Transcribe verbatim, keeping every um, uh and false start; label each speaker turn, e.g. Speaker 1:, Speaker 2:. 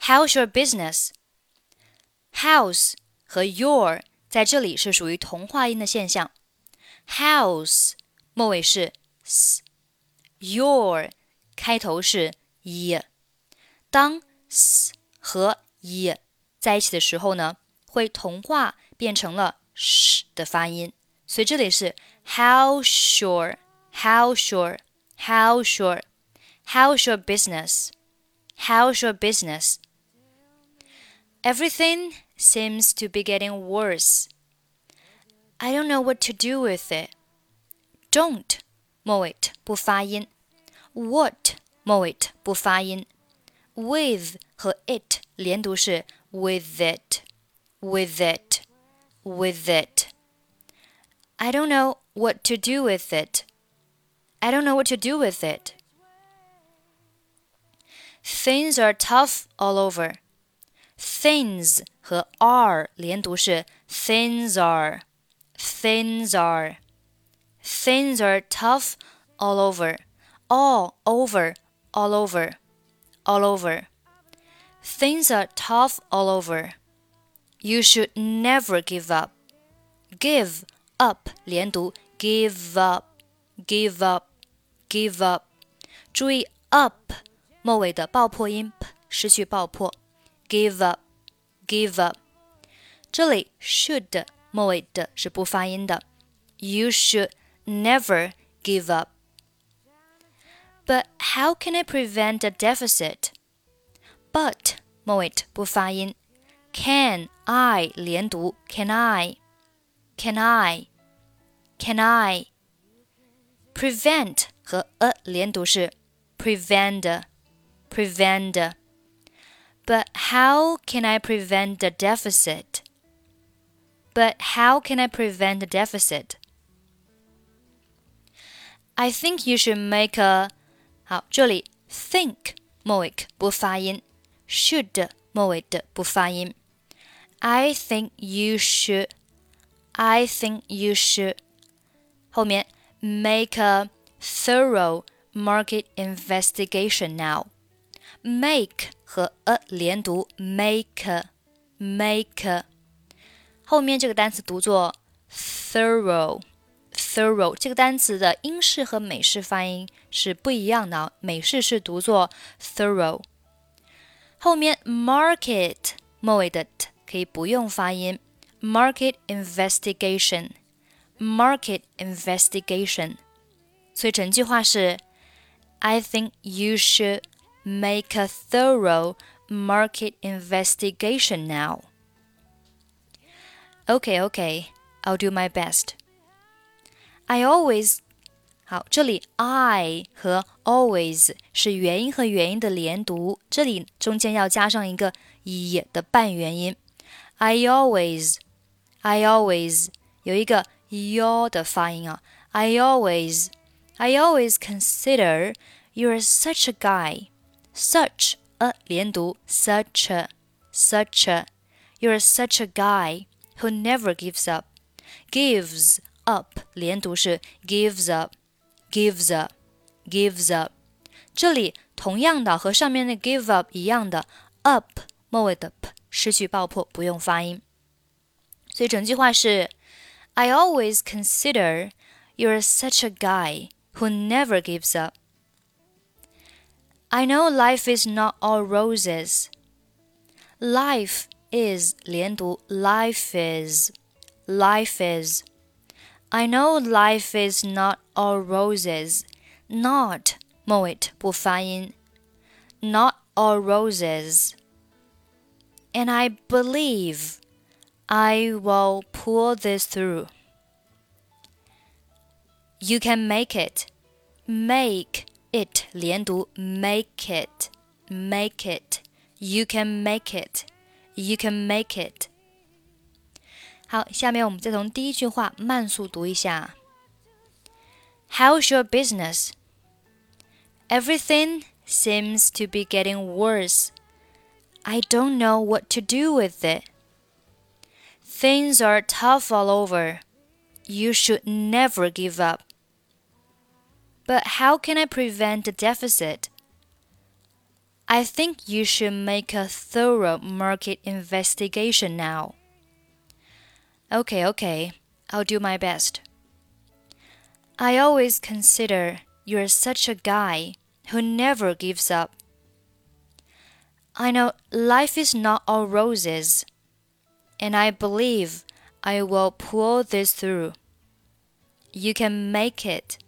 Speaker 1: How's your business? House 和 your 在这里是属于同化音的现象。House 末尾是 s， your 开头是 y。当 s 和 y 在一起的时候呢，会同化变成了 sh 的发音，所以这里是 How sure, how sure, how sure, how's your business? How's your business? Everything seems to be getting worse. I don't know what to do with it. Don't 末尾不发音 What 末尾不发音 With 和 it 连读是 with it, with it, with it. I don't know what to do with it. I don't know what to do with it. Things are tough all over. Things 和 are 连读是 things are, things are. Things are tough all over. All over, all over, all over. Things are tough all over. You should never give up. Give up 连读 give up, give up, give up. 注意 up 末尾的爆破音 p 失去爆破 give up, give up. 这里 should 末尾的是不发音的 You should never give up. But how can I prevent a deficit? But 末尾不发音 Can I 连读 Can I, Can I, Can I. Prevent 和 a 连读是 Prevent, Prevent. But how can I prevent the deficit? But how can I prevent the deficit? I think you should make a 好，这里 think 末尾不发音 should 末尾的不发音 I think you should I think you should 后面 make a thorough market investigation now. Make 和 a 连读 make, make. 后面这个单词读作 thorough, thorough. 这个单词的英式和美式发音是不一样的，美式是读作 thorough。后面 market 末尾的 t 可以不用发音 market investigation, market investigation. 所以整句话是 I think you should make a thorough market investigation now. Okay, okay, I'll do my best. I always 好，这里 I 和 always 是元音和元音的连读，这里中间要加上一个 e 的半元音。I always, I always 有一个 y 的发音啊。I always, I always consider you're such a guy. Such a 连读 such a, such a. You're such a guy who never gives up. Gives up 连读是 gives up, gives up, gives up. 这里同样的和上面的 give up 一样的 up 末尾的 p 失去爆破，不用发音。所以整句话是 I always consider you're such a guy who never gives up. I know life is not all roses. Life is 连读 life is, life is. I know life is not all roses. Not 末尾不发音 Not all roses. And I believe I will pull this through. You can make it. Make it 连读 make it, make it. You can make it. You can make it. 好，下面我们再从第一句话慢速读一下。How's your business? Everything seems to be getting worse. I don't know what to do with it. Things are tough all over. You should never give up. But how can I prevent the deficit? I think you should make a thorough market investigation now. Okay, okay, I'll do my best. I always consider you're such a guy who never gives up. I know life is not all roses, and I believe I will pull this through. You can make it.